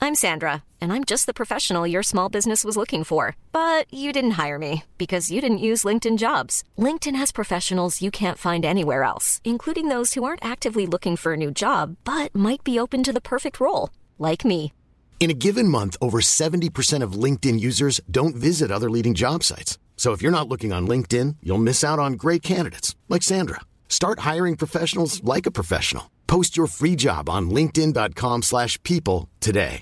I'm Sandra, and I'm just the professional your small business was looking for. But you didn't hire me because you didn't use LinkedIn Jobs. LinkedIn has professionals you can't find anywhere else, including those who aren't actively looking for a new job, but might be open to the perfect role, like me. In a given month, over 70% of LinkedIn users don't visit other leading job sites. So if you're not looking on LinkedIn, you'll miss out on great candidates like Sandra. Start hiring professionals like a professional. Post your free job on linkedin.com/people today.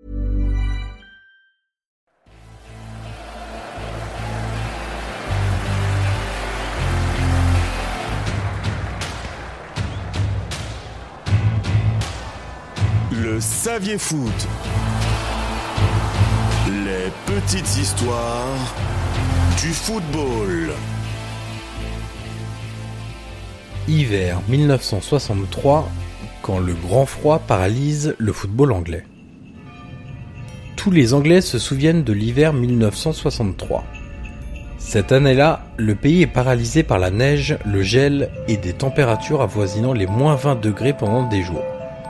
Le Saviez Foot. Les petites histoires du football. Hiver 1963, quand le grand froid paralyse le football anglais. Tous les Anglais se souviennent de l'hiver 1963. Cette année-là, le pays est paralysé par la neige, le gel et des températures avoisinant les moins 20 degrés pendant des jours.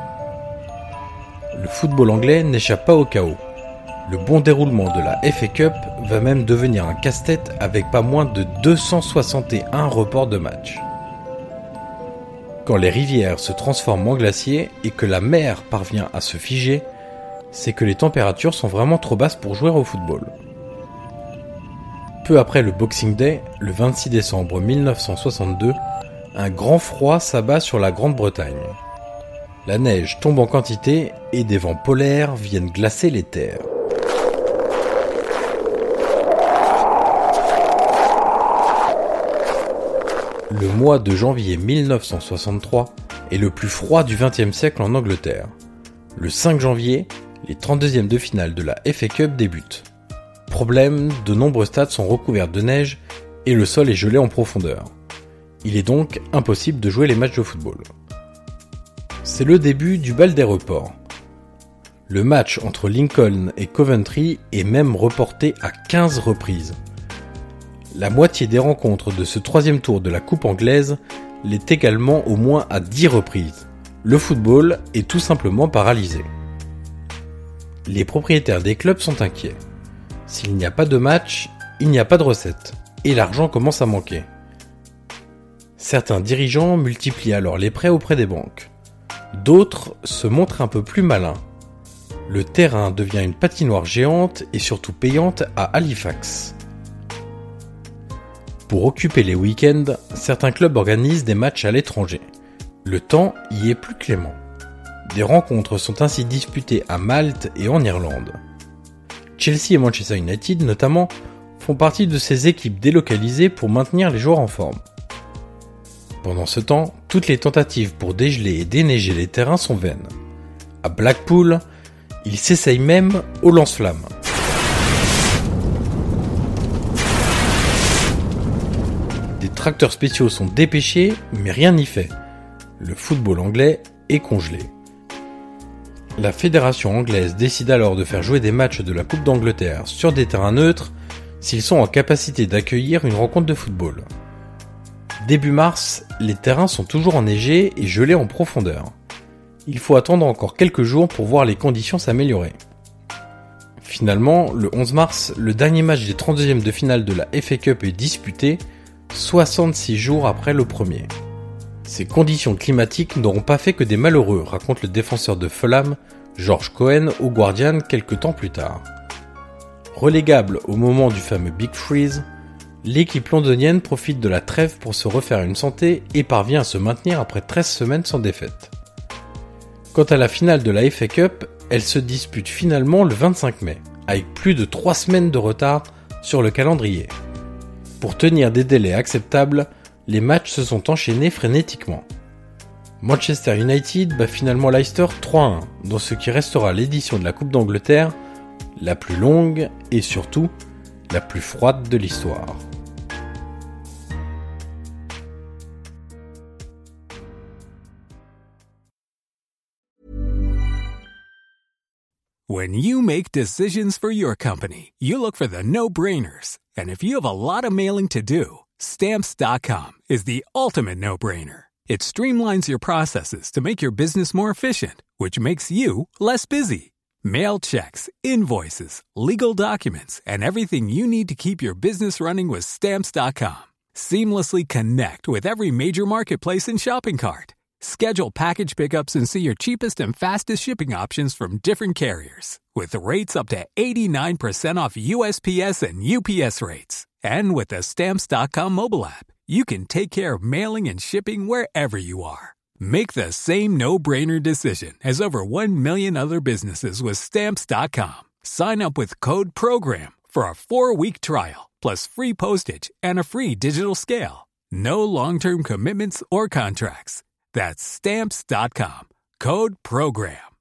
Le football anglais n'échappe pas au chaos. Le bon déroulement de la FA Cup va même devenir un casse-tête avec pas moins de 261 reports de matchs. Quand les rivières se transforment en glaciers et que la mer parvient à se figer, c'est que les températures sont vraiment trop basses pour jouer au football. Peu après le Boxing Day, le 26 décembre 1962, un grand froid s'abat sur la Grande-Bretagne. La neige tombe en quantité et des vents polaires viennent glacer les terres. Le mois de janvier 1963 est le plus froid du XXe siècle en Angleterre. Le 5 janvier, les 32e de finale de la FA Cup débutent. Problème, de nombreux stades sont recouverts de neige et le sol est gelé en profondeur. Il est donc impossible de jouer les matchs de football. C'est le début du bal des reports. Le match entre Lincoln et Coventry est même reporté à 15 reprises. La moitié des rencontres de ce troisième tour de la Coupe anglaise l'est également au moins à 10 reprises. Le football est tout simplement paralysé. Les propriétaires des clubs sont inquiets. S'il n'y a pas de match, il n'y a pas de recettes, et l'argent commence à manquer. Certains dirigeants multiplient alors les prêts auprès des banques. D'autres se montrent un peu plus malins. Le terrain devient une patinoire géante et surtout payante à Halifax. Pour occuper les week-ends, certains clubs organisent des matchs à l'étranger. Le temps y est plus clément. Des rencontres sont ainsi disputées à Malte et en Irlande. Chelsea et Manchester United, notamment, font partie de ces équipes délocalisées pour maintenir les joueurs en forme. Pendant ce temps, toutes les tentatives pour dégeler et déneiger les terrains sont vaines. À Blackpool, ils s'essayent même au lance-flammes. Des tracteurs spéciaux sont dépêchés, mais rien n'y fait. Le football anglais est congelé. La fédération anglaise décide alors de faire jouer des matchs de la Coupe d'Angleterre sur des terrains neutres s'ils sont en capacité d'accueillir une rencontre de football. Début mars, les terrains sont toujours enneigés et gelés en profondeur. Il faut attendre encore quelques jours pour voir les conditions s'améliorer. Finalement, le 11 mars, le dernier match des 32e de finale de la FA Cup est disputé, 66 jours après le premier. Ces conditions climatiques n'auront pas fait que des malheureux, raconte le défenseur de Fulham, George Cohen, au Guardian quelques temps plus tard. Relégable au moment du fameux Big Freeze, l'équipe londonienne profite de la trêve pour se refaire une santé et parvient à se maintenir après 13 semaines sans défaite. Quant à la finale de la FA Cup, elle se dispute finalement le 25 mai, avec plus de 3 semaines de retard sur le calendrier. Pour tenir des délais acceptables, les matchs se sont enchaînés frénétiquement. Manchester United bat finalement Leicester 3-1, dans ce qui restera l'édition de la Coupe d'Angleterre, la plus longue et surtout la plus froide de l'histoire. When you make decisions for your company, you look for the no-brainers. And if you have a lot of mailing to do, Stamps.com is the ultimate no-brainer. It streamlines your processes to make your business more efficient, which makes you less busy. Mail checks, invoices, legal documents, and everything you need to keep your business running with Stamps.com. Seamlessly connect with every major marketplace and shopping cart. Schedule package pickups and see your cheapest and fastest shipping options from different carriers, with rates up to 89% off USPS and UPS rates. And with the Stamps.com mobile app, you can take care of mailing and shipping wherever you are. Make the same no-brainer decision as over 1 million other businesses with Stamps.com. Sign up with code PROGRAM for a 4-week trial, plus free postage and a free digital scale. No long-term commitments or contracts. That's Stamps.com. Code PROGRAM.